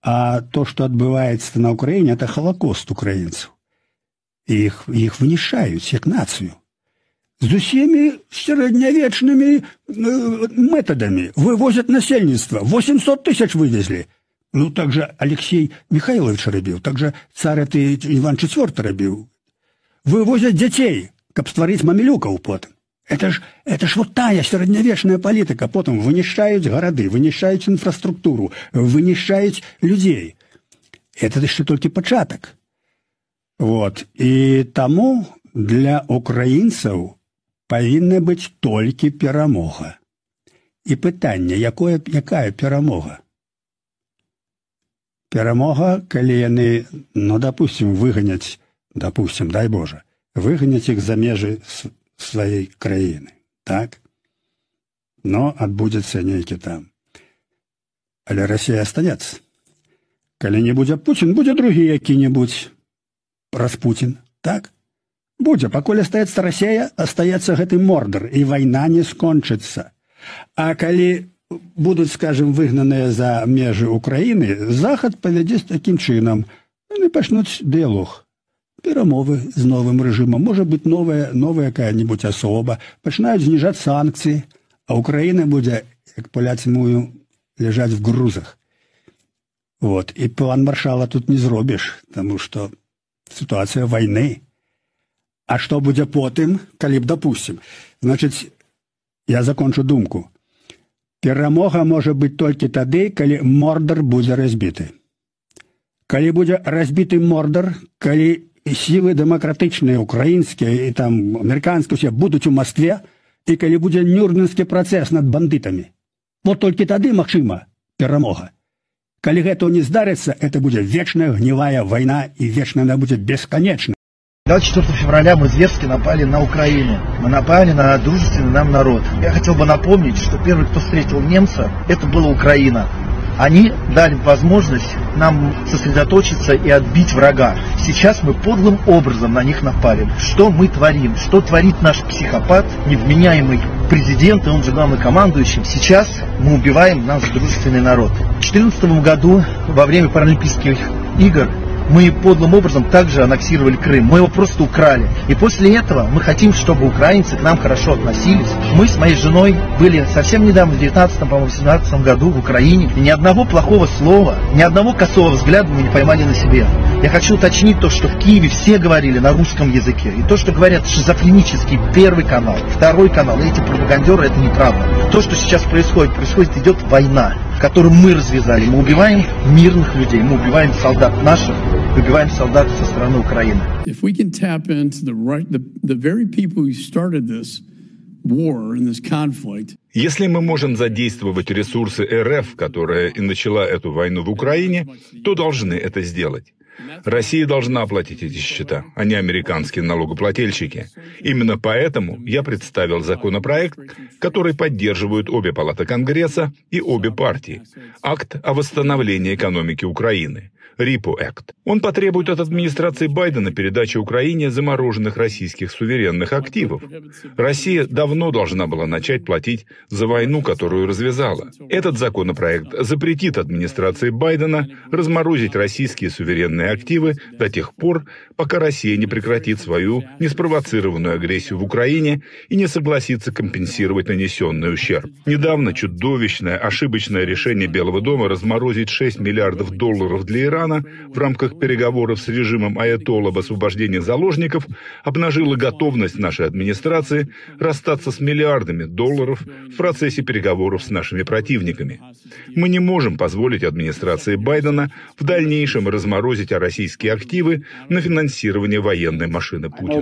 А то, что отбывается на Украине, это холокост украинцев. Их вынішаюць як нацию. З усімі сярэднявечнымі методами вывозят насельніцтва. 800 тысяч вывезли. Ну, так же Алексей Михайлович рабіў, так же цар Иван IV рабіў. Вывозят дзяцей, каб стварыць мамілюкаў потым. Это ж вот тая сярэднявечная палітыка. Потым вынішаюць гарады, вынішаюць інфраструктуру, вынішаюць людзей. Это яшчэ толькі пачатак. Вот. І таму для украінцаў павінна быць толькі перамога. І пытанне, якая перамога? Перамога, калі яны, допустим, выганяць, дай Боже, выганяць іх за межы сваёй краіны, так? Но адбудзецца нейкі там. Але Расія астанецца. Калі не будзе Путін, будзе другі які-небудзь Распутін, так? Будзе, пакуль астаецца Расія, астаецца гэты Мордар, і вайна не скончыцца. А калі будуць, скажем, выгнаныя за межы Украіны, Захад павядзе такім чынам. Яны пачнуць дыялог. Перамовы з новым рэжымам, можа быць новая якая-нибудь асоба, пачынаюць зніжаць санкцыі, а Украіна будзе, як паляцы мую, ляжаць в грузах. Вот. І план Маршала тут не зробіш, таму што сітуацыя вайны. А што будзе потым, калі б, допустим? Значыць, я закончу думку. Перамога можа быць толькі тады, калі Мордар будзе разбіты. Калі будзе разбіты Мордар, калі сілы дэмакратычныя, украінскія і там амерыканскія ўсе будуць у Маскве, і калі будзе Нюрнбергскі працэс над бандытамі. Вот толькі тады магчыма перамога. Калі гэта не здарыцца, это будзе вечная гнілая вайна, і вечная она будзе бесконечна. 24 февраля мы зверски напали на Украину. Мы напали на дружественный нам народ. Я хотел бы напомнить, что первый, кто встретил немца, это была Украина. Они дали возможность нам сосредоточиться и отбить врага. Сейчас мы подлым образом на них напали. Что мы творим? Что творит наш психопат, невменяемый президент, и он же главнокомандующий? Сейчас мы убиваем наш дружественный народ. В 2014 году, во время Паралимпийских игр, мы подлым образом также аннексировали Крым. Мы его просто украли. И после этого мы хотим, чтобы украинцы к нам хорошо относились. Мы с моей женой были совсем недавно, в 19-18 году в Украине. И ни одного плохого слова, ни одного косого взгляда мы не поймали на себе. Я хочу уточнить то, что в Киеве все говорили на русском языке. И то, что говорят шизофренический Первый канал, Второй канал, эти пропагандеры, это неправда. То, что сейчас происходит, идет война, которую мы развязали. Мы убиваем мирных людей, мы убиваем солдат наших, убиваем солдат со стороны Украины. If we can tap into the very people who started this war and this conflict. Если мы можем задействовать ресурсы РФ, которая и начала эту войну в Украине, то должны это сделать. Россия должна оплатить эти счета, а не американские налогоплательщики. Именно поэтому я представил законопроект, который поддерживают обе палаты Конгресса и обе партии. Акт о восстановлении экономики Украины. RIPO Act. Он потребует от администрации Байдена передачи Украине замороженных российских суверенных активов. Россия давно должна была начать платить за войну, которую развязала. Этот законопроект запретит администрации Байдена разморозить российские суверенные активы до тех пор, пока Россия не прекратит свою неспровоцированную агрессию в Украине и не согласится компенсировать нанесенный ущерб. Недавно чудовищное, ошибочное решение Белого дома разморозить $6 миллиардов для Ирана в рамках переговоров с режимом Аятоллы об освобождении заложников обнажило готовность нашей администрации расстаться с миллиардами долларов в процессе переговоров с нашими противниками. Мы не можем позволить администрации Байдена в дальнейшем разморозить российские активы на финансирование военной машины Путина.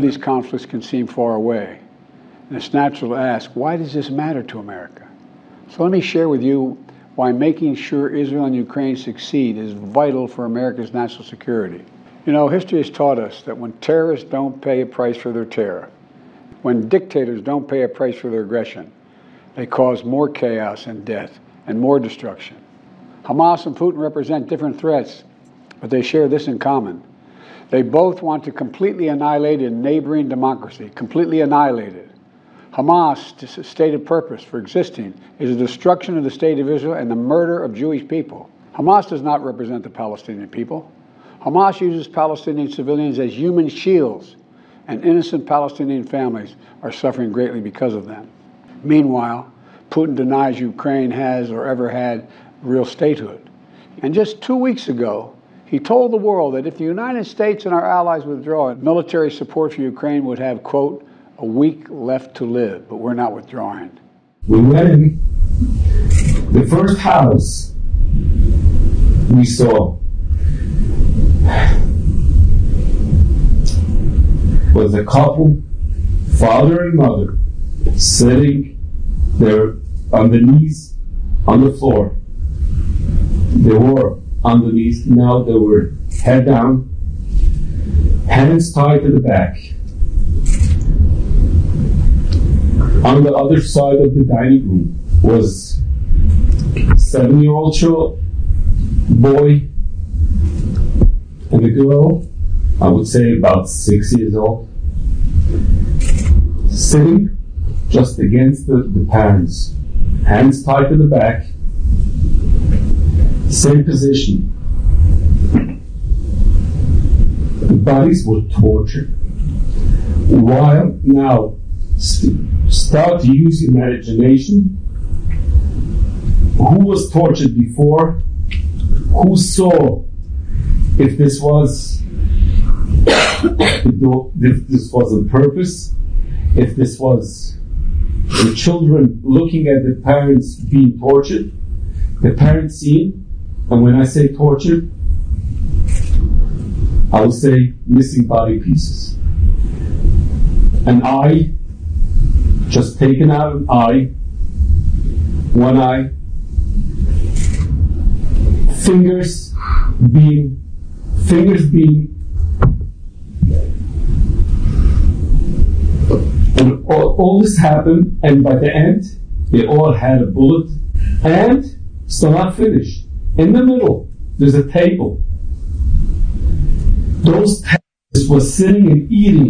Why making sure Israel and Ukraine succeed is vital for America's national security. You know, history has taught us that when terrorists don't pay a price for their terror, when dictators don't pay a price for their aggression, they cause more chaos and death and more destruction. Hamas and Putin represent different threats, but they share this in common. They both want to completely annihilate a neighboring democracy, completely annihilate it. Hamas' stated purpose for existing is the destruction of the state of Israel and the murder of Jewish people. Hamas does not represent the Palestinian people. Hamas uses Palestinian civilians as human shields, and innocent Palestinian families are suffering greatly because of them. Meanwhile, Putin denies Ukraine has or ever had real statehood. And just 2 weeks ago, he told the world that if the United States and our allies withdraw, military support for Ukraine would have, quote, a week left to live, but we're not withdrawing. We went in, the first house we saw was a couple, father and mother, sitting there on the knees on the floor. They were on the knees, now they were head down, hands tied to the back. On the other side of the dining room was a 7-year-old boy and a girl, I would say about 6 years old, sitting just against the parents, hands tied to the back, same position. The bodies were tortured. While now, start to use imagination. Who was tortured before? Who saw if this was on purpose? If this was the children looking at the parents being tortured? The parents seeing, and when I say tortured, I will say missing body pieces. An eye, just taken out an eye, one eye, fingers being, and all this happened, and by the end, they all had a bullet, and still not finished. In the middle, there's a table. Those tables were sitting and eating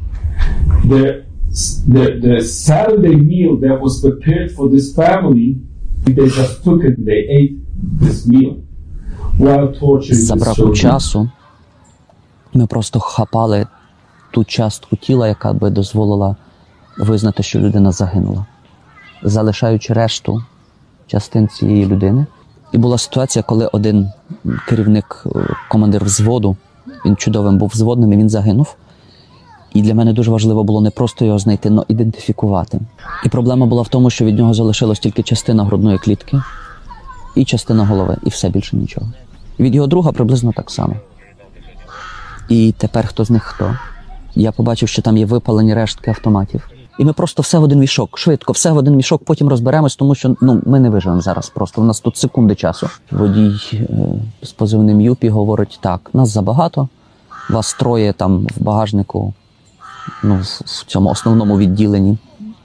the Saturday meal that was prepared for this family. They just took it and they ate this meal while torturing За браку часу ми просто хапали ту частку тіла, яка би дозволила визнати, що людина загинула, залишаючи решту частин цієї людини. І була ситуація, коли один керівник, командир взводу, він чудовим був взводним, і він загинув. І для мене дуже важливо було не просто його знайти, але ідентифікувати. І проблема була в тому, що від нього залишилась тільки частина грудної клітки і частина голови, і все, більше нічого. І від його друга приблизно так само. І тепер хто з них хто? Я побачив, що там є випалені рештки автоматів. І ми просто все в один мішок, швидко, все в один мішок, потім розберемось, тому що ми не виживемо зараз просто. У нас тут секунди часу. Водій з позивним Юпі говорить, так, нас забагато, вас троє там в багажнику, в цьому основному відділенні.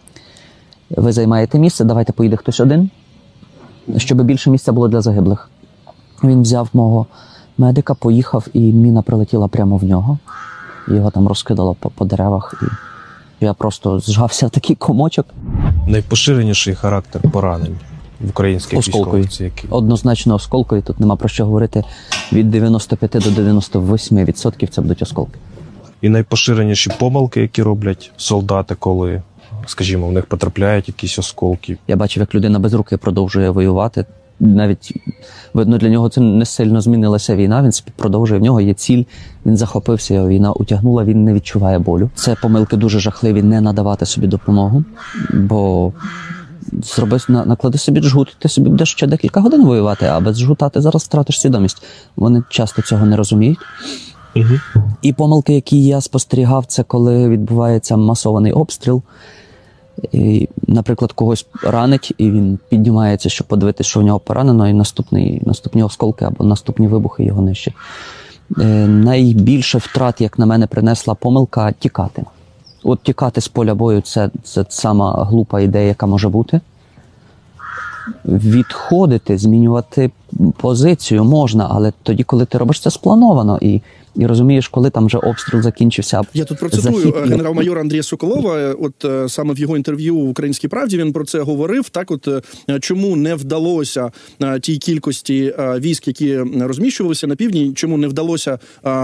Ви займаєте місце, давайте поїде хтось один, щоб більше місця було для загиблих. Він взяв мого медика, поїхав, і міна прилетіла прямо в нього. Його там розкидало по деревах. І я просто зжався в такий комочок. Найпоширеніший характер поранень в українських військових? Однозначно осколкові, тут нема про що говорити. Від 95 до 98% це будуть осколки. І найпоширеніші помилки, які роблять солдати, коли, скажімо, в них потрапляють якісь осколки. Я бачив, як людина без руки продовжує воювати. Навіть, видно, для нього це не сильно змінилася війна, він продовжує, в нього є ціль, він захопився, його війна утягнула, він не відчуває болю. Це помилки дуже жахливі, не надавати собі допомогу, бо наклади собі джгут, ти собі будеш ще декілька годин воювати, а без джгута ти зараз втратиш свідомість. Вони часто цього не розуміють. Угу. І помилки, які я спостерігав, це коли відбувається масований обстріл. І, наприклад, когось ранить, і він піднімається, щоб подивитися, що в нього поранено, і наступні осколки або наступні вибухи його нищать. Найбільше втрат, як на мене, принесла помилка тікати. От тікати з поля бою – це сама глупа ідея, яка може бути. Відходити, змінювати позицію можна, але тоді, коли ти робиш це сплановано, і І розумієш, коли там вже обстріл закінчився. Я тут процитую генерал-майора Андрія Соколова. От саме в його інтерв'ю в «Українській правді» він про це говорив. Так, от чому не вдалося тій кількості військ, які розміщувалися на півдні, чому не вдалося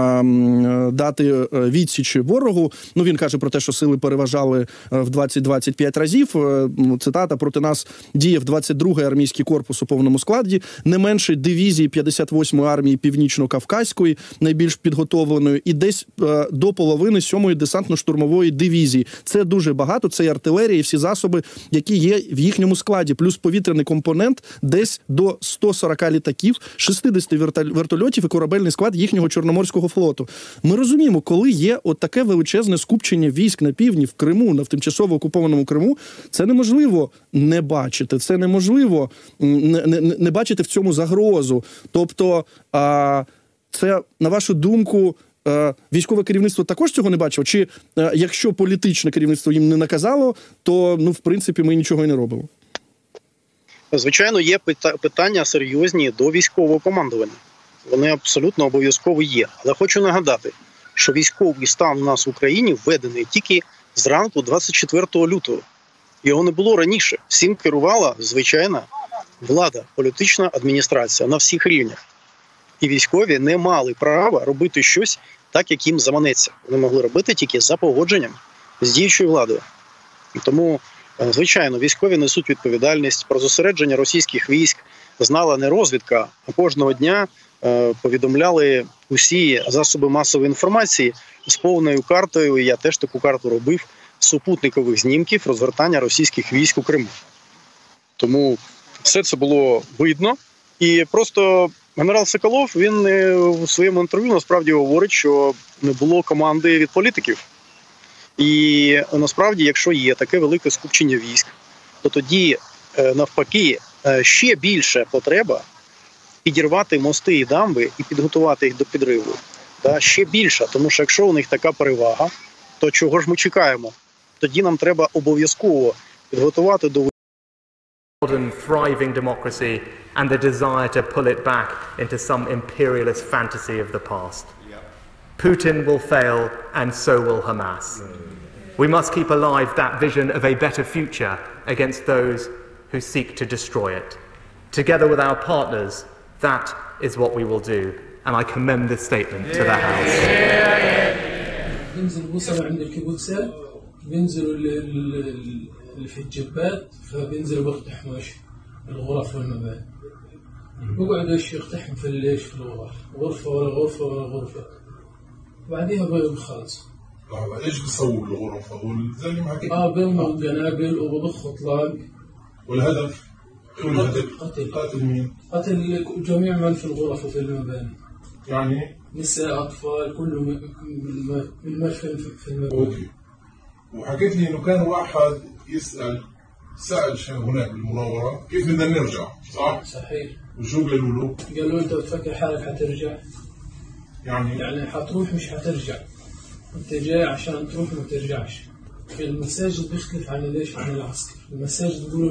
дати відсіч ворогу. Ну, він каже про те, що сили переважали в 20-25 разів. Цитата: проти нас діяв 22-й армійський корпус у повному складі, не менше дивізії 58-ї армії Північно-Кавказької, найбільш підготовленої, і десь до половини 7-ї десантно-штурмової дивізії. Це дуже багато, це і артилерія, і всі засоби, які є в їхньому складі, плюс повітряний компонент десь до 140 літаків, 60 вертольотів і корабельний склад їхнього Чорноморського флоту. Ми розуміємо, коли є от таке величезне скупчення військ на півдні, в Криму, на тимчасово окупованому Криму, це неможливо не бачити, це неможливо не бачити в цьому загрозу. Тобто, це, на вашу думку, військове керівництво також цього не бачило? Чи якщо політичне керівництво їм не наказало, то, ну, в принципі, ми нічого і не робимо? Звичайно, є питання серйозні до військового командування. Вони абсолютно обов'язково є. Але хочу нагадати, що військовий стан у нас в Україні введений тільки зранку 24 лютого. Його не було раніше. Всім керувала звичайна влада, політична адміністрація на всіх рівнях. І військові не мали права робити щось так, як їм заманеться. Вони могли робити тільки за погодженням з діючою владою. Тому, звичайно, військові несуть відповідальність. Про зосередження російських військ знала не розвідка, а кожного дня повідомляли усі засоби масової інформації з повною картою. Я теж таку карту робив, супутникових знімків розгортання російських військ у Криму. Тому все це було видно. І просто генерал Соколов, він у своєму інтерв'ю насправді говорить, що не було команди від політиків. І насправді, якщо є таке велике скупчення військ, то тоді, навпаки, ще більше потреба підірвати мости і дамби і підготувати їх до підриву. Ще більше, тому що якщо у них така перевага, то чого ж ми чекаємо? Тоді нам треба обов'язково підготувати до modern thriving democracy and the desire to pull it back into some imperialist fantasy of the past. Putin will fail and so will Hamas. We must keep alive that vision of a better future against those who seek to destroy it. Together with our partners, that is what we will do. And I commend this statement to the House. بينزلوا اللي في الجبات، فبينزلوا بيقتحموا الغرف والمباني. بيقعدوا يقتحموا في الغرف، غرفة ورا غرفة ورا غرفة. بعديها بيخلصوا. ايش بيسووا بالغرف؟ زي اللي معك. بيرموا القنابل وبضخوا اطلاق. والهدف؟ قتل مين؟ قتل جميع من في الغرف وفي المباني. يعني؟ نساء، أطفال، كله من في المباني. اوكي. وحكيت لي انه كان واحد سأل شيء هناك بالمناورة كيف بدنا نرجع، صح؟ صحيح. وشو قالوا له؟ قالوا انت بتفكر حالك حترجع؟ يعني حتروح مش حترجع. انت جاي عشان تروح ما ترجعش. المساجد بيختلف عن ليش عن العسكر. المساجد بيقولوا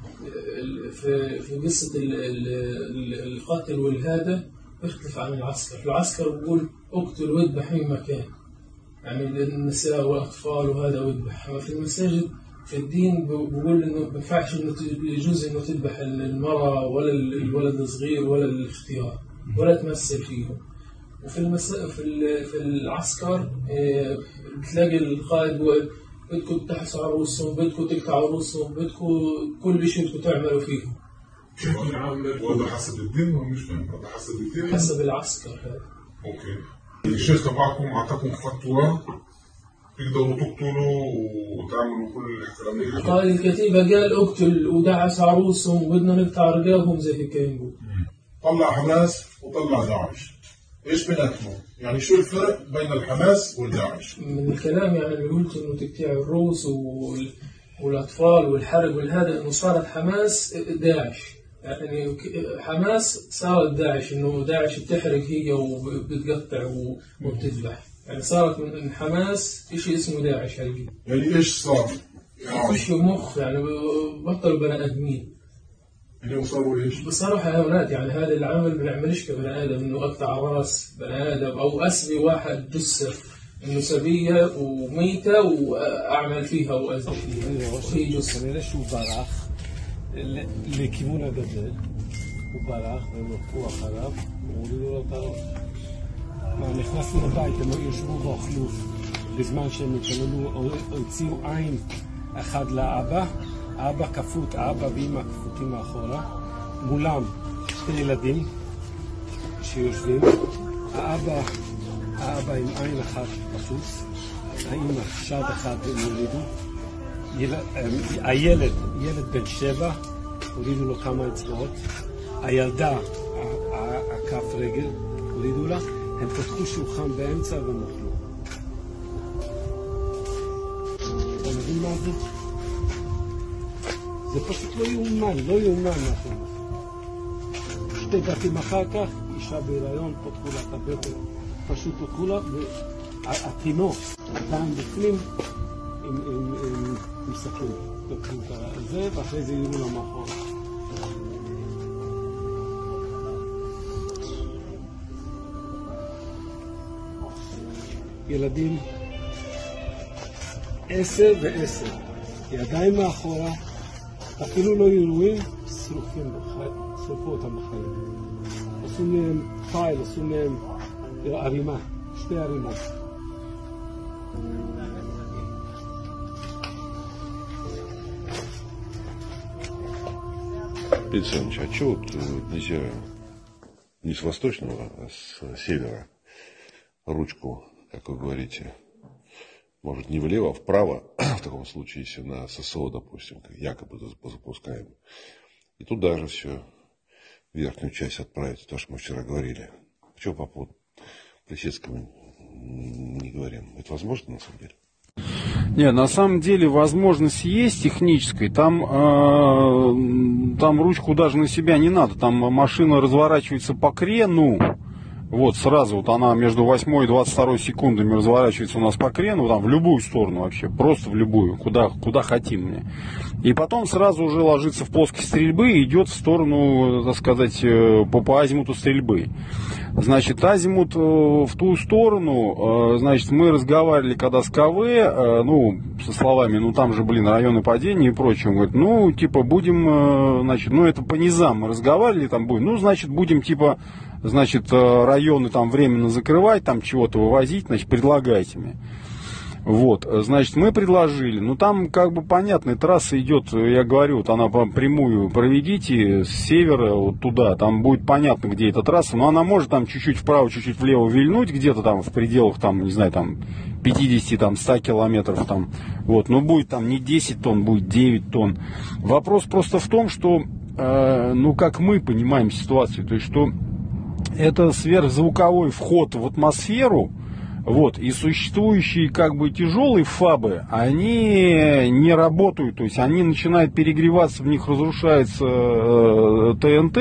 في قصة القتل والهذا بيختلف عن العسكر. العسكر بيقول اقتل واذبح من مكان. يعني النساء والأطفال وهذا وذبح. أما في المساجد في الدين بقول إنه ما ينفعش إنه يجوز إنه تذبح المرأة ولا الولد الصغير ولا الاختيار ولا تمثل فيهم. وفي في العسكر بتلاقي القائد بيقول بدكم تحصوا على رؤوسهم، بدكم تقطعوا رؤوسهم، بدكم كل شيء بدكم تعملوا فيهم. وهذا حسب الدين ولا مش فاهم؟ هذا حسب الدين؟ حسب العسكر هذا. أوكي. الشيخ تبعكم أعطاكم فتوى تقدروا تقتلوا وتعملوا كل الاحترام. قائد الكتيبة قال اقتل ودعس عروسهم وبدنا نقطع رقابهم زي هيك يقول. طلع حماس وطلع داعش. ايش بيناتهم؟ يعني شو الفرق بين الحماس والداعش؟ من الكلام يعني اللي قلت انه تقطيع الرؤوس والاطفال والحرق والهذا انه صارت حماس داعش. يعني حماس صارت داعش، انه داعش بتحرق هي وبتقطع وبتذبح. يعني صارت من حماس شيء اسمه داعش هاي. يعني ايش صار؟ خشوا مخ، يعني بطلوا بني ادمين. اليوم صاروا ايش؟ بصراحة يا أولاد يعني هذا العمل ما بنعملش كبني آدم إنه أقطع راس بني آدم أو أسبي واحد جثة إنه سبية وميتة وأعمل فيها وأزل فيها وهي جثة. כנראה שהוא ברח לכיוון הגדר, הוא ברח והם הלכו אחריו, הורידו לו את הראש. נכנסנו לבית, הם יושבו ואוכלו בזמן שהם התפללו, הוציאו עין אחד לאבא, האבא כפות, האבא ואמא כפותים מאחורה, מולם שתי ילדים שיושבים, האבא עם עין אחת בחוץ, האמא שד אחד הם הורידו, הילד, ילד בן 7, הורידו לו כמה אצבעות, הילדה, הכף רגל, הורידו לה, הם פתחו שולחן באמצע והם אוכלו. אתה מבין מה זה? זה פשוט לא יאומן, לא יאומן מה שהם עושים. 2 בתים אחר כך, אישה בהיריון, פתחו לה את הבטן, פשוט פתחו לה, והתינוק עדיין בפנים עם סכין. פתחו את זה, ואחרי זה יראו לה מאחורה. ילדים 10 ו10, ידיים מאחורה, אפילו לא ירועים, שרפו אותם בחיים. עשו מהם פייל, עשו מהם ערימה, 2 ערימות. Александрович, а что вот нельзя не с восточного, а с севера ручку, как вы говорите, может не влево, а вправо, в таком случае, если на ССО, допустим, якобы запускаем. И туда же все, верхнюю часть отправить, то, что мы вчера говорили. Почему по поводу Плесецкого не говорим? Это возможно, на самом деле? Нет, на самом деле возможность есть технической. Там ручку даже на себя не надо. Там машина разворачивается по крену. Вот сразу вот она между 8 и 22 секундами разворачивается у нас по крену, там в любую сторону вообще, просто в любую, куда хотим мне. И потом сразу уже ложится в плоскость стрельбы и идет в сторону, так сказать, по азимуту стрельбы. Значит, азимут в ту сторону, значит, мы разговаривали когда с КВ, ну, со словами, ну, там же, районы падения и прочее. Он говорит, ну, типа, будем, значит, ну, это по низам мы разговаривали, там будем, ну, значит, будем, типа, значит, районы там временно закрывать, там чего-то вывозить, значит, предлагайте мне. Вот, значит, мы предложили, ну там как бы понятно, трасса идет, я говорю, вот она прямую проведите с севера вот туда, там будет понятно, где эта трасса, но она может там чуть-чуть вправо, чуть-чуть влево вильнуть, где-то там в пределах, там, не знаю, там 50, там 100 километров, там, вот, но будет там не 10 тонн, будет 9 тонн. Вопрос просто в том, что, ну как мы понимаем ситуацию, то есть, что это сверхзвуковой вход в атмосферу. Вот, и существующие как бы тяжелые ФАБы, они не работают, то есть они начинают перегреваться, в них разрушается ТНТ,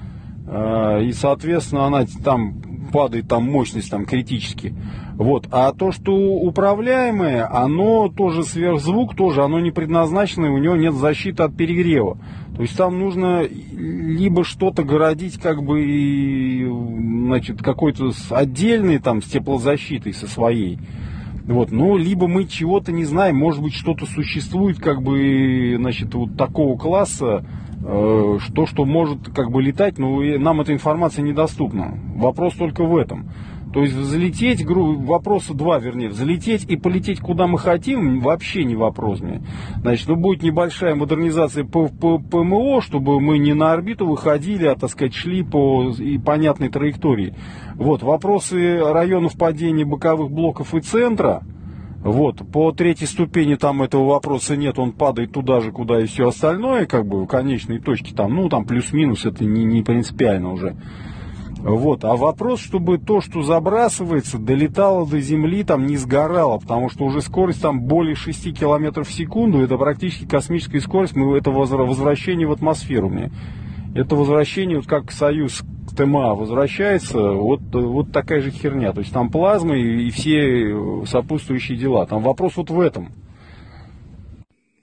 и, соответственно, она там падает, там мощность там критически. Вот, а то, что управляемое, оно тоже сверхзвук, тоже оно не предназначено, у него нет защиты от перегрева. То есть там нужно либо что-то городить, как бы, значит, какой-то отдельный там с теплозащитой со своей. Вот, ну, либо мы чего-то не знаем, может быть, что-то существует, как бы, значит, вот такого класса, что может, как бы, летать, но нам эта информация недоступна. Вопрос только в этом. То есть взлететь, вопроса 2, вернее, взлететь и полететь куда мы хотим, вообще не вопрос мне. Значит, ну, будет небольшая модернизация ПМО, чтобы мы не на орбиту выходили, а, так сказать, шли по понятной траектории. Вот, вопросы районов падения боковых блоков и центра, вот, по 3-й ступени там этого вопроса нет, он падает туда же, куда и все остальное, как бы, в конечной точке, там, ну, там плюс-минус, это не принципиально уже. Вот, а вопрос, чтобы то, что забрасывается, долетало до земли, там не сгорало, потому что уже скорость там более 6 километров в секунду, это практически космическая скорость, это возвращение в атмосферу мне. Это возвращение, вот как Союз к ТМА возвращается, вот такая же херня, то есть там плазма и все сопутствующие дела, там вопрос вот в этом.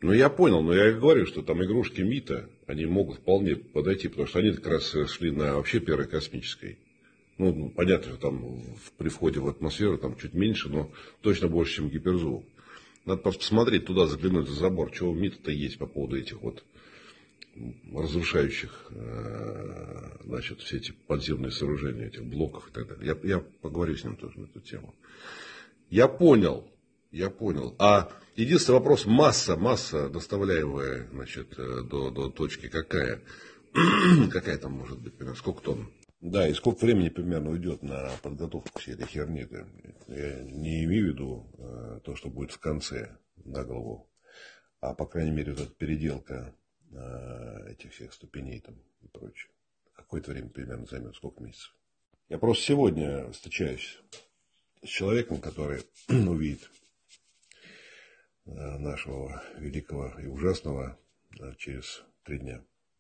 Ну, я понял, но я говорю, что там игрушки МИТа, они могут вполне подойти, потому что они как раз шли на вообще первой космической. Ну, понятно, что там при входе в атмосферу там чуть меньше, но точно больше, чем гиперзвук. Надо просто посмотреть туда, заглянуть за забор, чего у МИТа-то есть по поводу этих вот разрушающих, значит, все эти подземные сооружения, этих блоков и так далее. Я поговорю с ним тоже на эту тему. Я понял. А единственный вопрос, масса доставляемая, значит, до точки какая? Какая там может быть, примерно, сколько тонн? Да, и сколько времени примерно уйдет на подготовку всей этой херни? Я не имею в виду то, что будет в конце, на голову, а, по крайней мере, вот эта переделка этих всех ступеней там и прочее. Какое-то время примерно займет, сколько месяцев? Я просто сегодня встречаюсь с человеком, который увидит нашего великого и ужасного через 3 дня.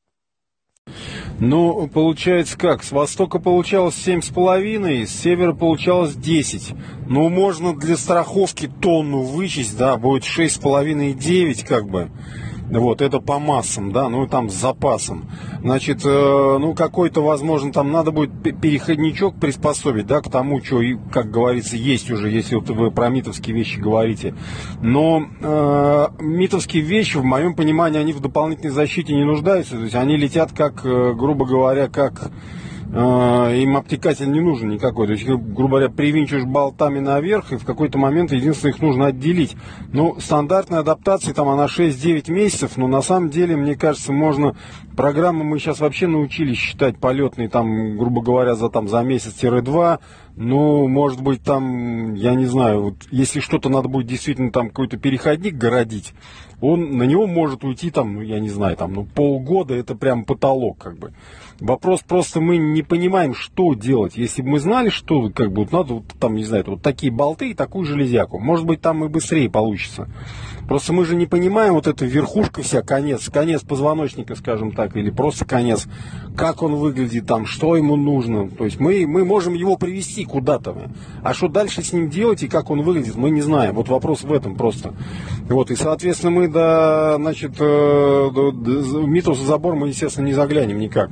Ну, получается как? С востока получалось 7,5, с севера получалось 10. Ну, можно для страховки тонну вычесть, да, будет 6,5 и 9, как бы. Вот, это по массам, да, ну, там с запасом. Значит, ну, какой-то, возможно, там надо будет переходничок приспособить, да, к тому, что, как говорится, есть уже, если вот вы про митовские вещи говорите. Но митовские вещи, в моем понимании, они в дополнительной защите не нуждаются. То есть они летят как, грубо говоря, как... им обтекатель не нужен никакой. То есть, грубо говоря, привинчиваешь болтами наверх, и в какой-то момент единственное их нужно отделить. Ну, стандартная адаптация, там она 6-9 месяцев, но на самом деле, мне кажется, можно... Программы мы сейчас вообще научились считать полетные, там, грубо говоря, за месяц-2. Ну, может быть, там, я не знаю, вот, если что-то надо будет действительно там какой-то переходник городить, на него может уйти там, я не знаю, там, ну, полгода, это прям потолок, как бы. Вопрос просто, мы не понимаем, что делать. Если бы мы знали, что, как бы, вот надо, вот, там, не знаю, вот такие болты и такую железяку, может быть, там и быстрее получится. Просто мы же не понимаем, вот эта верхушка вся, конец позвоночника, скажем так, или просто конец, как он выглядит там, что ему нужно. То есть мы можем его привести куда-то. А что дальше с ним делать и как он выглядит, мы не знаем. Вот вопрос в этом просто. Вот, и, соответственно, мы до митовский забор мы, естественно, не заглянем никак.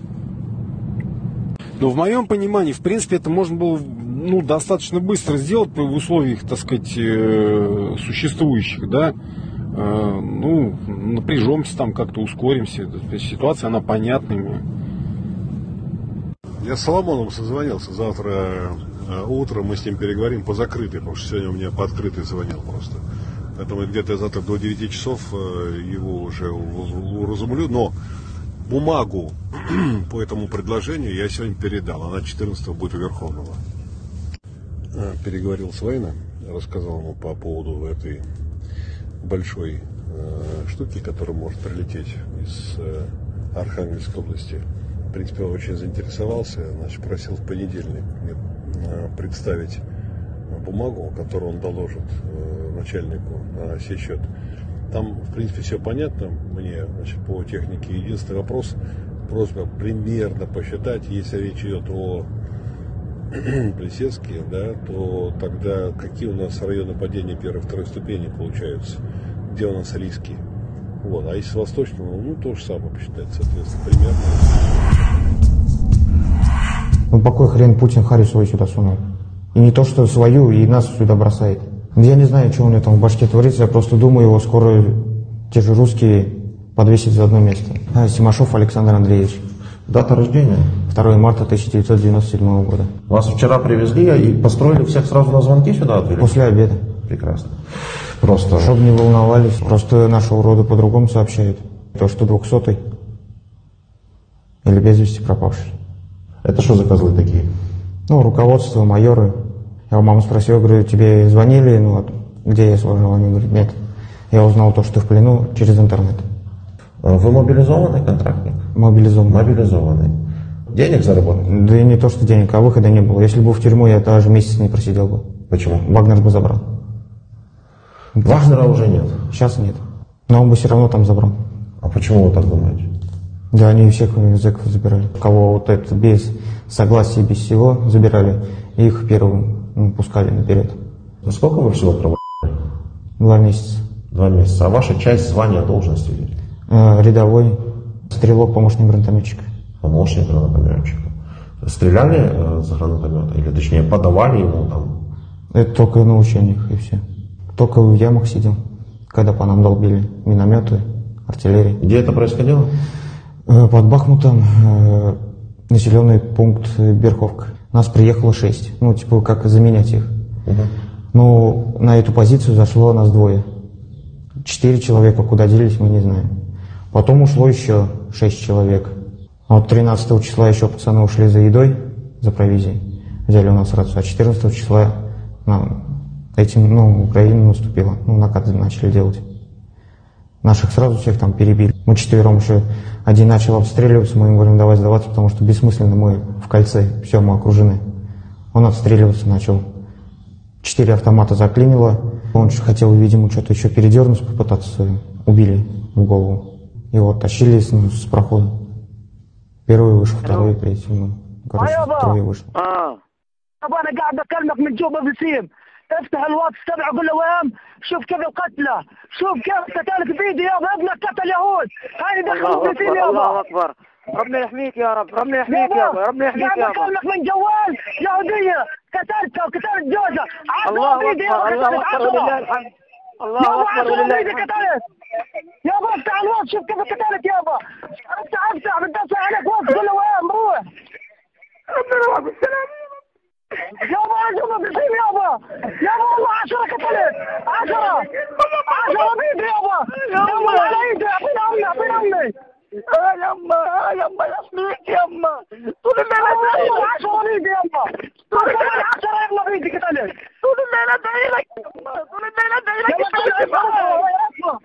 Но в моем понимании, в принципе, это можно было, ну, достаточно быстро сделать в условиях, так сказать, существующих, да. Ну, напряжемся там, как-то ускоримся. То есть ситуация, она понятная. Я с Соломоном созвонился. Завтра утром мы с ним переговорим по закрытой, потому что сегодня у меня по открытой звонил просто. Поэтому где-то завтра до 9 часов его уже уразумлю. Но бумагу по этому предложению я сегодня передал. Она 14-го будет у Верховного. Переговорил с Вейном, рассказал ему по поводу этой большой штуки, которая может прилететь из Архангельской области. В принципе, он очень заинтересовался, значит, просил в понедельник мне представить бумагу, которую он доложит начальнику на сей счет. Там, в принципе, все понятно мне, значит, по технике. Единственный вопрос, просьба примерно посчитать, если речь идет о Плесецке, да, то тогда какие у нас районы падения первой и второй ступени получаются, где у нас риски. Вот. А если с восточного, ну, то же самое посчитать, соответственно, примерно. Ну, по какой хрен Путин Харю свою сюда сунул? И не то, что свою, и нас сюда бросает. Я не знаю, что у него там в башке творится, я просто думаю, его скоро те же русские подвесят за одно место. Симашов Александр Андреевич. Дата рождения? 2 марта 1997 года. Вас вчера привезли и построили всех сразу на звонки сюда отвели? После обеда. Прекрасно. Просто... Чтобы не волновались, просто наши уроды по-другому сообщают. То, что 200-й или без вести пропавший. Это что за козлы такие? Ну, руководство, майоры. Я у мамы спросил, говорю, тебе звонили, ну вот, где я служил? Они говорят, нет. Я узнал то, что ты в плену через интернет. Вы мобилизованный контрактник? Мобилизованный. Мобилизованный. Денег заработал? Да и не то, что денег, а выхода не было. Если бы в тюрьму, я даже месяц не просидел бы. Почему? Вагнер бы забрал. Вагнера уже нет? Сейчас нет. Но он бы все равно там забрал. А почему вы так думаете? Да, они всех зэков забирали. Кого вот это без согласия, без всего забирали, их первым пускали наперед. А сколько вы всего проводили? 2 месяца. 2 месяца. А ваша часть, звания, должности? Рядовой, стрелок, помощник гранатометчика. Помощник гранатометчика. Стреляли за гранатомета? Или, точнее, подавали ему там? Это только на учениях и все. Только в ямах сидел, когда по нам долбили минометы, артиллерия. Где это происходило? Под Бахмутом, населенный пункт Берховка. Нас приехало 6, ну, типа, как заменять их. Ну, на эту позицию зашло нас 2. 4 человека, куда делись, мы не знаем. Потом ушло еще 6 человек. Вот 13 числа еще пацаны ушли за едой, за провизией. Взяли у нас рацию. А 14 числа Украина наступила. Ну, накаты начали делать. Наших сразу всех там перебили. Мы 4 еще, один начал обстреливаться, мы им говорим, давай сдаваться, потому что бессмысленно, мы в кольце, все, мы окружены. Он отстреливаться начал. 4 автомата заклинило. Он хотел, видимо, что-то еще передернуть, попытаться, убили в голову. Его тащили с прохода. Первый вышел, второй, третий. Ну, короче, 3 вышло. أنا قاعد بكلمك من جوبا بسيم. افتح الواتس تبعه قول له وين شوف كيف القتلى شوف كيف قتلت بيدي يابا ابنك قتل يهود هاي دخلوا بسيم يابا الله اكبر ربنا يحميك يا رب ربنا يحميك يابا ربنا يحميك يابا بكلمك من جوال يهوديه قتلتها وقتلت جوزها الله اكبر الله اكبر ولله الحمد الله اكبر ولله الحمد يابا افتح الواتس شوف كيف قتلت يابا افتح بتدوس عليك واتس قول له وين بروح ربنا يوفقك بالسلامه يابا جوبا بسيم يابا والله 10 قتلت 10 بيدي يابا يابا على ايدي اعطيني امي يما يحميك يما طول الليل 10 بيدي يما طول الليل 10 يما بيدي قتلت طول الليل ادعي لك طول الليل ادعي لك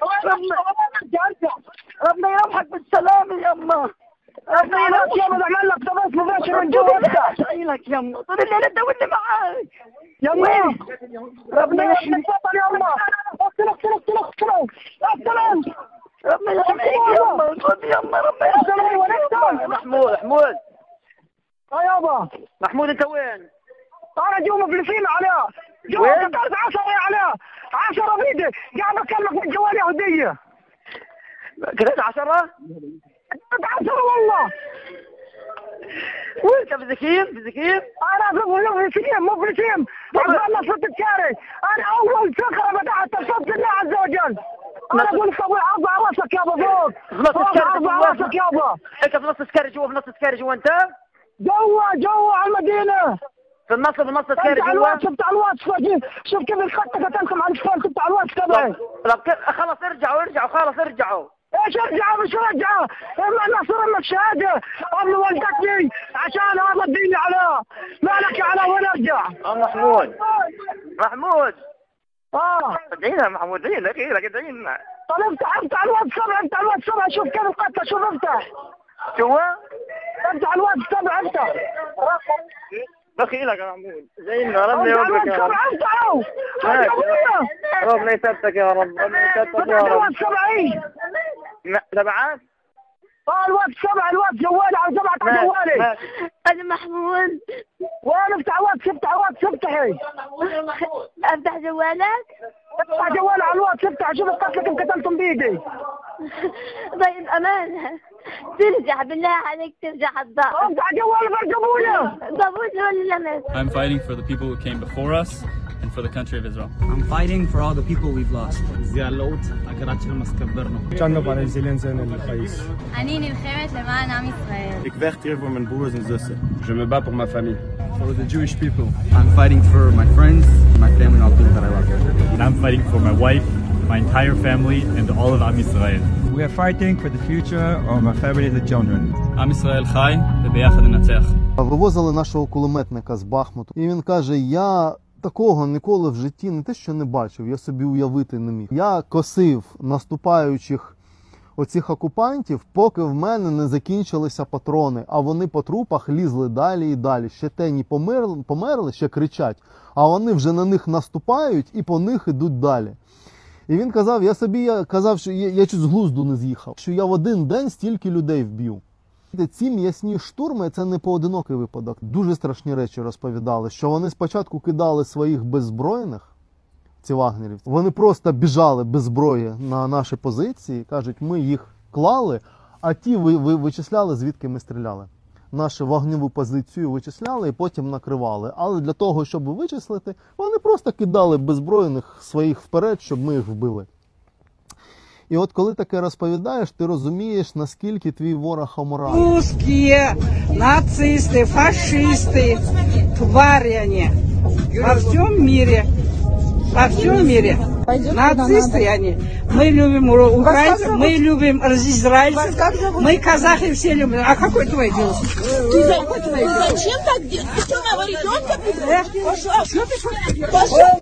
ربنا يرحمك بالسلامه يما ربنا يرحمك يما بعمل لك تبص مباشر من جوا ادعي لك يما طول الليل ادعي معاك يما ربنا يحميك يما اقتلك ربنا يحميك يما خذ يما ربنا يحميك محمود يابا محمود انت وين؟ انا جوا بلفين عليه جوا قتلت 10 عليه 10 بيدي قاعد بكلمك من جوال يهوديه قتلت 10 والله وانت بزكيم انا في سكيم مو في سكيم انا صرت الكاري انا اول صخره بدات تصد الله عز وجل انا اقول صبي ارفع راسك يابا فوق ارفع راسك يابا انت في نص سكري جوا انت جوا على المدينه في النص سكري جوا شفت على الواتس شوف كيف الخط قتلكم على الفون شفت على الواتس تبعي خلاص ارجعوا خلاص ارجعوا ايش ارجعوا مش رجعوا اما نصر اما الشهاده قبل ولدتني عشان هذا الدين على مالك على وين ارجع محمود ادعينا محمود ادعينا طب افتح الواتس 7 شوف كيف القتل شوف افتح افتح الواتس 7 افتح دخيلك يا محمود زينا ربنا يوفقك يا رب ربنا يثبتك يا رب الواتس 7 تبعك الواتس 7 الواتس جوالي على 7 جوالي انا محمود وين افتح واتس افتحي افتح جوالك افتح جوالي على الواتس افتح شوف القتل كيف قتلتم بيدي طيب امانه ترجع بالله عليك ترجع الضغط افتح جوالي برجبوله ولا لا I'm fighting for the people who came before us and for the country of Israel. I'm fighting for all the people we've lost. אני נלחמת למען עם ישראל. Ik vecht hier voor mijn broers en zussen. Je me bats pour ma famille. For the Jewish people. I'm fighting for my friends, my family, and all the people that I love. And I'm fighting for my wife, my entire family, and all of Am Yisrael. We are fighting for the future of my family and the children. Am Yisrael חי, וביחד ננצח. Вивозили нашого кулеметника з Бахмуту, і він каже, я такого ніколи в житті не те, що не бачив, я собі уявити не міг. Я косив наступаючих оцих окупантів, поки в мене не закінчилися патрони, а вони по трупах лізли далі і далі. Ще тені померли, ще кричать, а вони вже на них наступають і по них ідуть далі. І він казав, що я чуть з глузду не з'їхав, що я в один день стільки людей вб'ю. Ці м'ясні штурми – це не поодинокий випадок. Дуже страшні речі розповідали, що вони спочатку кидали своїх беззбройних, ці вагнерівці. Вони просто біжали без зброї на наші позиції, кажуть, ми їх клали, а ті вичисляли, звідки ми стріляли. Нашу вогневу позицію вичисляли і потім накривали. Але для того, щоб вичислити, вони просто кидали беззбройних своїх вперед, щоб ми їх вбили. І от коли таке розповідаєш, ти розумієш, наскільки твій ворог аморальний. Русські, нацисти, фашисти, тварі вони во всьому мире. Во всем мире. Нацисты они. Мы любим украинцев, мы любим израильцев, мы казахи все любим. А какой твой дело? Зачем так делать? Ты что, моего ребенка? Пошел.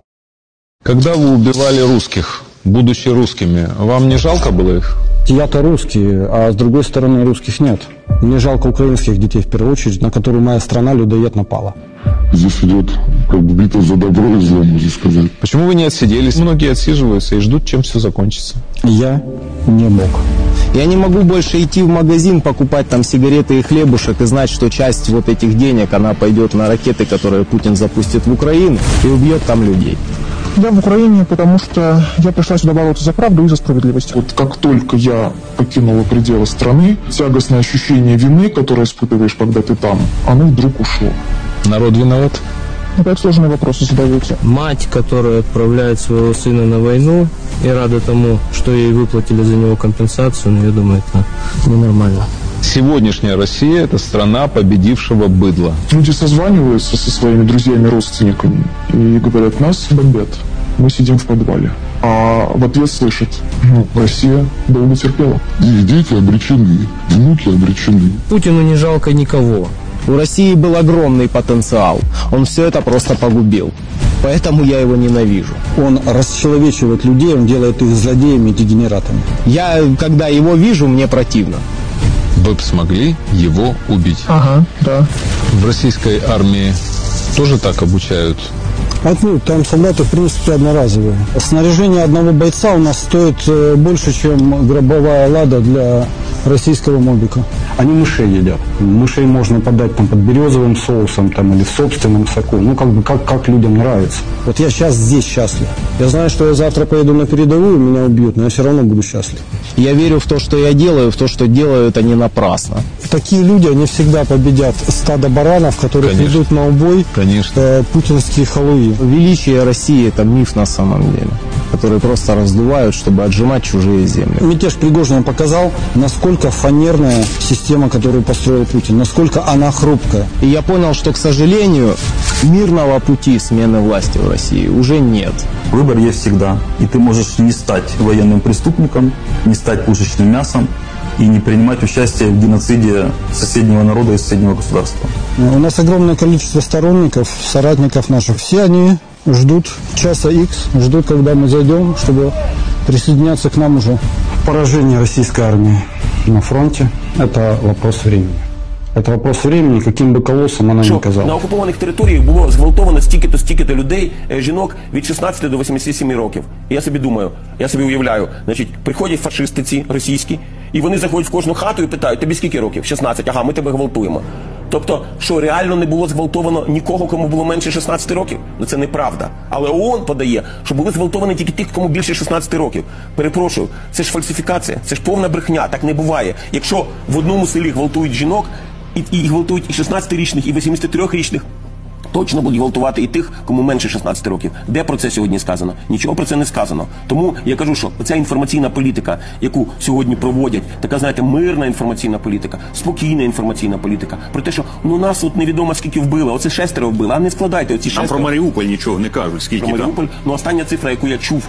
Когда вы убивали русских, будучи русскими, вам не жалко было их? Я-то русский, а с другой стороны русских нет. Мне жалко украинских детей в первую очередь, на которую моя страна людоед напала. Здесь идет как бы битва за добро и зло, можно сказать. Почему вы не отсиделись? Многие отсиживаются и ждут, чем все закончится. Я не мог. Я не могу больше идти в магазин, покупать там сигареты и хлебушек и знать, что часть вот этих денег, она пойдет на ракеты, которые Путин запустит в Украину и убьет там людей. Я в Украине, потому что я пришла сюда бороться за правду и за справедливость. Вот как только я покинула пределы страны, тягостное ощущение вины, которое испытываешь, когда ты там, оно вдруг ушло. Народ виноват? Опять сложные вопросы задаете. Мать, которая отправляет своего сына на войну и рада тому, что ей выплатили за него компенсацию, но я думаю, это ненормально. Сегодняшняя Россия – это страна победившего быдла. Люди созваниваются со своими друзьями, родственниками и говорят, нас бомбят, мы сидим в подвале. А в ответ слышат, Россия долго терпела. Их дети обречены, внуки обречены. Путину не жалко никого. У России был огромный потенциал. Он все это просто погубил. Поэтому я его ненавижу. Он расчеловечивает людей, он делает их злодеями и дегенератами. Я, когда его вижу, мне противно. Вы бы смогли его убить? Ага, да. В российской армии тоже так обучают? Отнюдь, там солдаты, в принципе, одноразовые. Снаряжение одного бойца у нас стоит больше, чем гробовая лада для российского мобика. Они мышей едят. Мышей можно подать там под березовым соусом там, или в собственном соку. Ну, как бы, как людям нравится. Вот я сейчас здесь счастлив. Я знаю, что я завтра поеду на передовую, меня убьют, но я все равно буду счастлив. Я верю в то, что я делаю, в то, что делают они напрасно. Такие люди, они всегда победят стадо баранов, которые идут на убой путинские халуи. Величие России – это миф на самом деле, который просто раздувают, чтобы отжимать чужие земли. Мятеж Пригожина показал, насколько фанерная система, которую построил Путин, насколько она хрупкая. И я понял, что, к сожалению, мирного пути смены власти в России уже нет. Выбор есть всегда. И ты можешь не стать военным преступником, не стать пушечным мясом и не принимать участие в геноциде соседнего народа и соседнего государства. У нас огромное количество сторонников, соратников наших. Все они ждут часа X, ждут, когда мы зайдем, чтобы присоединяться к нам уже. Поражение российской армии на фронте – это вопрос времени. Это вопрос времени, каким би колосом вона не казала. На окупованих територіях було зґвалтовано стільки-то людей, жінок від 16 до 87 років. І я собі думаю, я собі уявляю, значить, приходять фашисти ці російські, і вони заходять в кожну хату і питають, тобі скільки років? 16, ага, ми тебе гвалтуємо. Тобто, що реально не було зґвалтовано нікого, кому було менше 16 років? Ну це неправда. Але ООН подає, що були зґвалтовані тільки тих, кому більше 16 років. Перепрошую, це ж фальсифікація, це ж повна брехня, так не буває. Якщо в одному селі гвалтують жінок, і гвалтують і 16-річних, і 83-річних, точно будуть гвалтувати і тих, кому менше 16 років. Де про це сьогодні сказано? Нічого про це не сказано. Тому я кажу, що ця інформаційна політика, яку сьогодні проводять, така, знаєте, мирна інформаційна політика, спокійна інформаційна політика, про те, що ну нас от невідомо скільки вбили, оце 6 вбили, а не складайте оці 6. Там про Маріуполь нічого не кажуть, скільки про Маріуполь, ну остання цифра, яку я чув,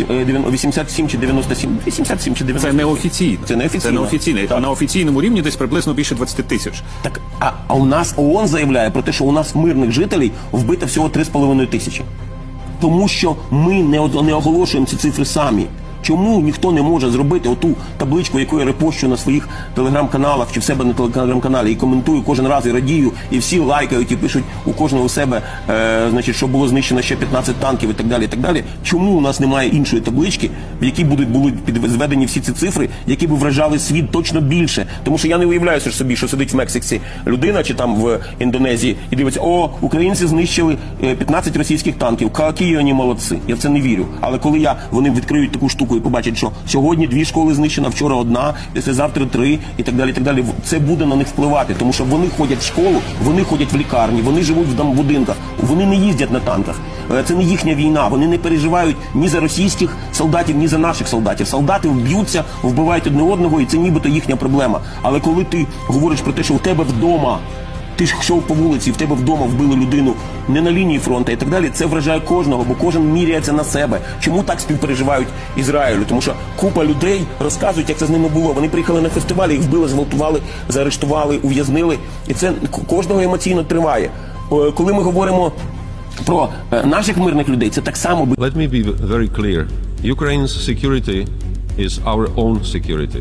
87 чи 97, 87 чи 97. Це неофіційно. Це неофіційно. А на офіційному рівні десь приблизно більше 20 тисяч. Так, а у нас ООН заявляє про те, що у нас мирних жителів вбито всього 3,5 тисячі. Тому що ми не оголошуємо ці цифри самі. Чому ніхто не може зробити оту табличку, яку я репощу на своїх телеграм-каналах чи в себе на телеграм-каналі і коментую кожен раз і радію, і всі лайкають і пишуть у кожного у себе, значить, що було знищено ще 15 танків і так далі, і так далі. Чому у нас немає іншої таблички, в якій будуть підзведені всі ці цифри, які б вражали світ точно більше? Тому що я не уявляю собі, що сидить в Мексиці людина чи там в Індонезії і дивиться, о, українці знищили 15 російських танків, які вони молодці. Я в це не вірю. Але коли вони відкриють таку штуку і побачать, що сьогодні 2 школи знищено, вчора 1, післязавтра 3 і так далі, це буде на них впливати. Тому що вони ходять в школу, вони ходять в лікарні, вони живуть в будинках, вони не їздять на танках. Це не їхня війна, вони не переживають ні за російських солдатів, ні за наших солдатів. Солдати б'ються, вбивають одне одного, і це нібито їхня проблема. Але коли ти говориш про те, що у тебе вдома, ти ж йшов по вулиці, в тебе вдома вбили людину не на лінії фронту і так далі, це вражає кожного, бо кожен міряється на себе. Чому так співпереживають Ізраїлю? Тому що купа людей розказують, як це з ними було. Вони приїхали на фестиваль, їх вбили, зґвалтували, заарештували, ув'язнили. І це кожного емоційно триває. Коли ми говоримо про наших мирних людей, це так само. Let me be very clear. Ukraine's security is our own security.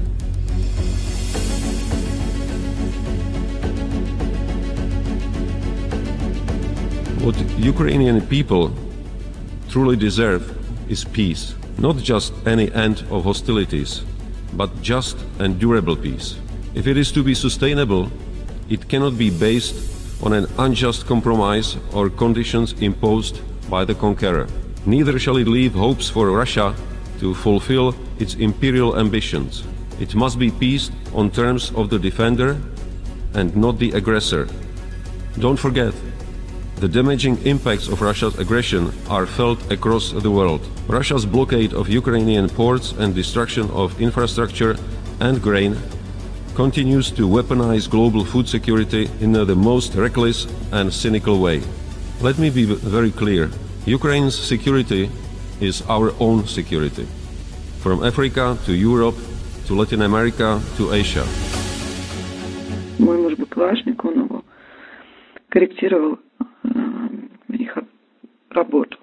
What Ukrainian people truly deserve is peace. Not just any end of hostilities, but just and durable peace. If it is to be sustainable, it cannot be based on an unjust compromise or conditions imposed by the conqueror. Neither shall it leave hopes for Russia to fulfill its imperial ambitions. It must be peace on terms of the defender and not the aggressor. Don't forget, the damaging impacts of Russia's aggression are felt across the world. Russia's blockade of Ukrainian ports and destruction of infrastructure and grain continues to weaponize global food security in the most reckless and cynical way. Let me be very clear. Ukraine's security is our own security. From Africa to Europe to Latin America to Asia. Мой муж БПЛАшник, он его корректировал их работу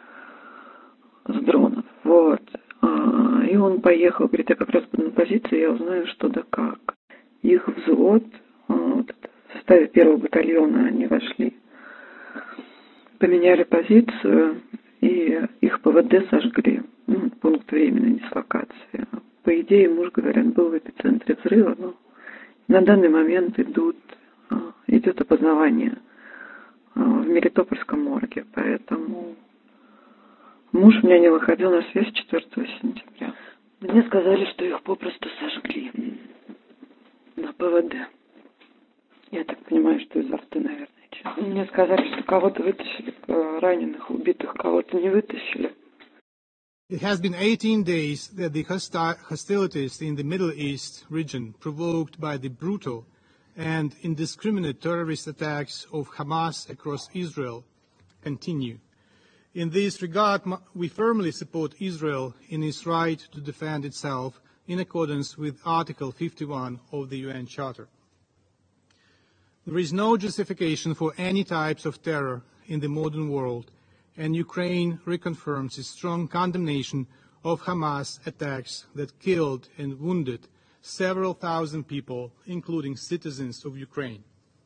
с дронов. Вот. И он поехал, говорит, я как раз буду на позиции, я узнаю, что да как. Их взвод, вот, в составе 1-го батальона они вошли, поменяли позицию, и их ПВД сожгли. Пункт временной дислокации. По идее, муж, говорят, был в эпицентре взрыва, но на данный момент идет опознавание в Мелитопольском морге, поэтому муж у меня не выходил на связь 4 сентября. Мне сказали, что их попросту сожгли на ПВД. Я так понимаю, что из авто, наверное. Мне сказали, что кого-то вытащили, раненых, убитых кого-то не вытащили. It has been 18 days that the hostilities in the Middle East region, provoked by the brutal and indiscriminate terrorist attacks of Hamas across Israel, continue. In this regard, we firmly support Israel in its right to defend itself in accordance with Article 51 of the UN Charter. There is no justification for any types of terror in the modern world, and Ukraine reconfirms its strong condemnation of Hamas attacks that killed and wounded several thousand people, including citizens of Ukraine.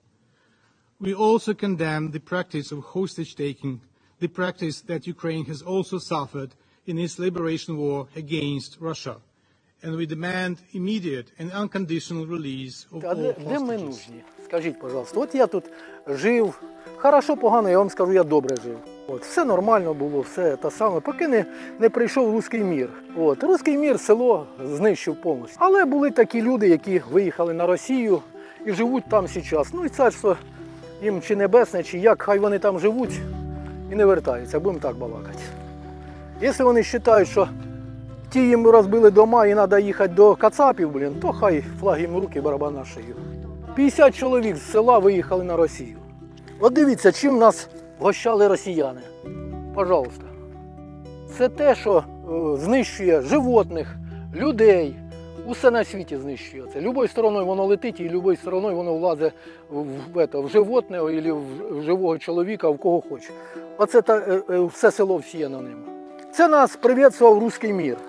We also condemn the practice of hostage-taking, the practice that Ukraine has also suffered in its liberation war against Russia, and we demand immediate and unconditional release of all Де ми hostages. нужні? Скажіть, пожалуйста, от я тут жив, хорошо, погано, я вам скажу, я добре жив. От, все нормально було, все те саме, поки не прийшов руський мір. От, руський мір село знищив повністю. Але були такі люди, які виїхали на Росію і живуть там зараз. Ну і царство їм чи небесне, чи як, хай вони там живуть і не вертаються, будемо так балакати. Якщо вони вважають, що ті їм розбили дома і треба їхати до кацапів, то хай флаг їм в руки, барабан на шию. 50 чоловік з села виїхали на Росію. От дивіться, чим нас гощали росіяни. Пожалуйста. Це те, що знищує животних, людей. Усе на світі знищує це. Любою стороною воно летить і любою стороною воно влазить в животне або в живого чоловіка, в кого хоче. Оце все село всіяно ним. Це нас привітствував руський мір.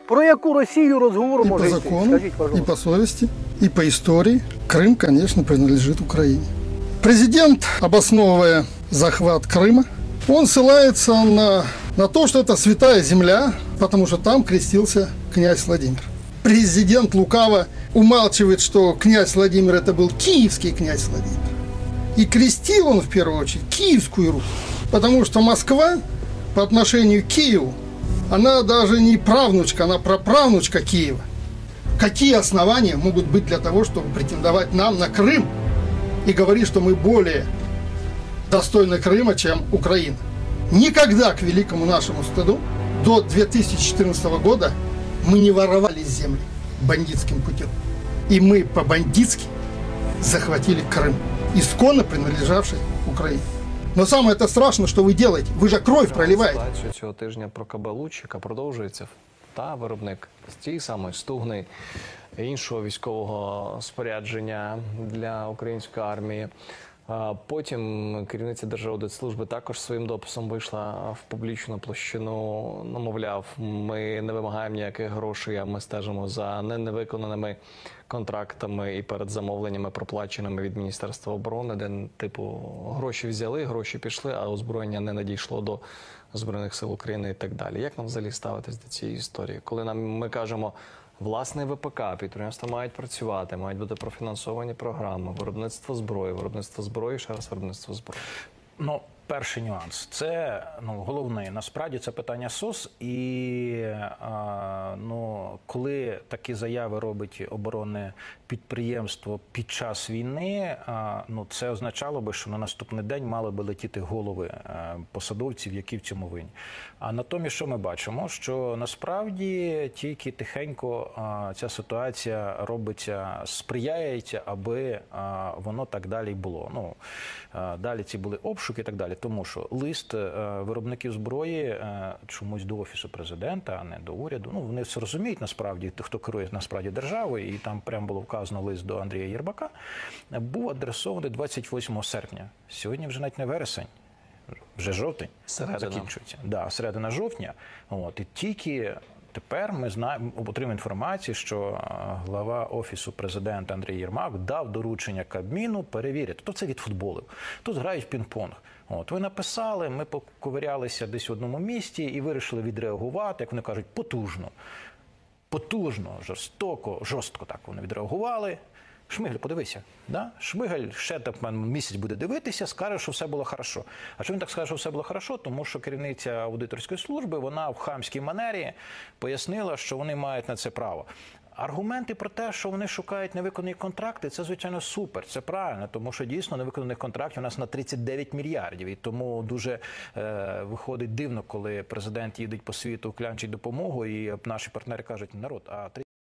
Про яку Росію розговор И по може йти? закону, Скажіть, и пожалуйста. по совести, и по истории Крым, конечно, принадлежит Украине. Президент, обосновывая захват Крыма, он ссылается на то, что это святая земля, потому что там крестился князь Владимир. Президент лукаво умалчивает, что князь Владимир это был киевский князь Владимир. И крестил он в первую очередь Киевскую Русь, потому что Москва по отношению к Киеву, она даже не правнучка, она праправнучка Киева. Какие основания могут быть для того, чтобы претендовать нам на Крым и говорить, что мы более достойны Крыма, чем Украина? Никогда, к великому нашему стыду, до 2014 года мы не воровали земли бандитским путем. И мы по-бандитски захватили Крым, исконно принадлежавший Украине. Но самое это страшно, что вы делаете. Вы же кровь проливаете. Ситуацію цього тижня про Кабелучика продовжується. Та виробник з тієї самої Стугни, іншого військового спорядження для української армії. Потім керівниця Держаудитслужби також своїм дописом вийшла в публічну площину, мовляв, ми не вимагаємо ніяких грошей, а ми стежимо за невиконаними контрактами і передзамовленнями, проплаченими від Міністерства оборони, де, типу, гроші взяли, гроші пішли, а озброєння не надійшло до Збройних сил України і так далі. Як нам взагалі ставитись до цієї історії? Коли ми кажемо, власне ВПК, підприємства мають працювати, мають бути профінансовані програми, виробництво зброї, ще раз виробництво зброї. Ну, перший нюанс. Це, головний, насправді, це питання СОС. І, коли такі заяви робить оборонне підприємство під час війни, це означало би, що на наступний день мали би летіти голови посадовців, які в цьому винні. А натомість, що ми бачимо? Що насправді тільки тихенько ця ситуація робиться, сприяється, аби воно так далі було. Далі ці були обшуки і так далі. Тому що лист виробників зброї чомусь до Офісу Президента, а не до уряду. Вони все розуміють, насправді, хто керує насправді державою, і там прямо було вказано лист до Андрія Єрмака, був адресований 28 серпня. Сьогодні вже навіть не вересень, вже жовтень закінчується. Да, середина жовтня. І тільки тепер ми отримуємо інформацію, що глава Офісу Президента Андрій Єрмак дав доручення Кабміну перевірити. То це відфутболив. Тут грають в пінг-понг. Ви написали, ми поковирялися десь в одному місці і вирішили відреагувати, як вони кажуть, потужно. Потужно, жорстко так вони відреагували. Шмигаль, подивися. Да? Шмигаль ще місяць буде дивитися, скаже, що все було хорошо. А чому він так скаже, що все було хорошо? Тому що керівниця аудиторської служби, вона в хамській манері пояснила, що вони мають на це право. Аргументи про те, що вони шукають невиконані контракти, це, звичайно, супер, це правильно, тому що дійсно невиконаних контрактів у нас на 39 мільярдів. І тому дуже виходить дивно, коли президент їде по світу, клянчить допомогу, і наші партнери кажуть, народ, а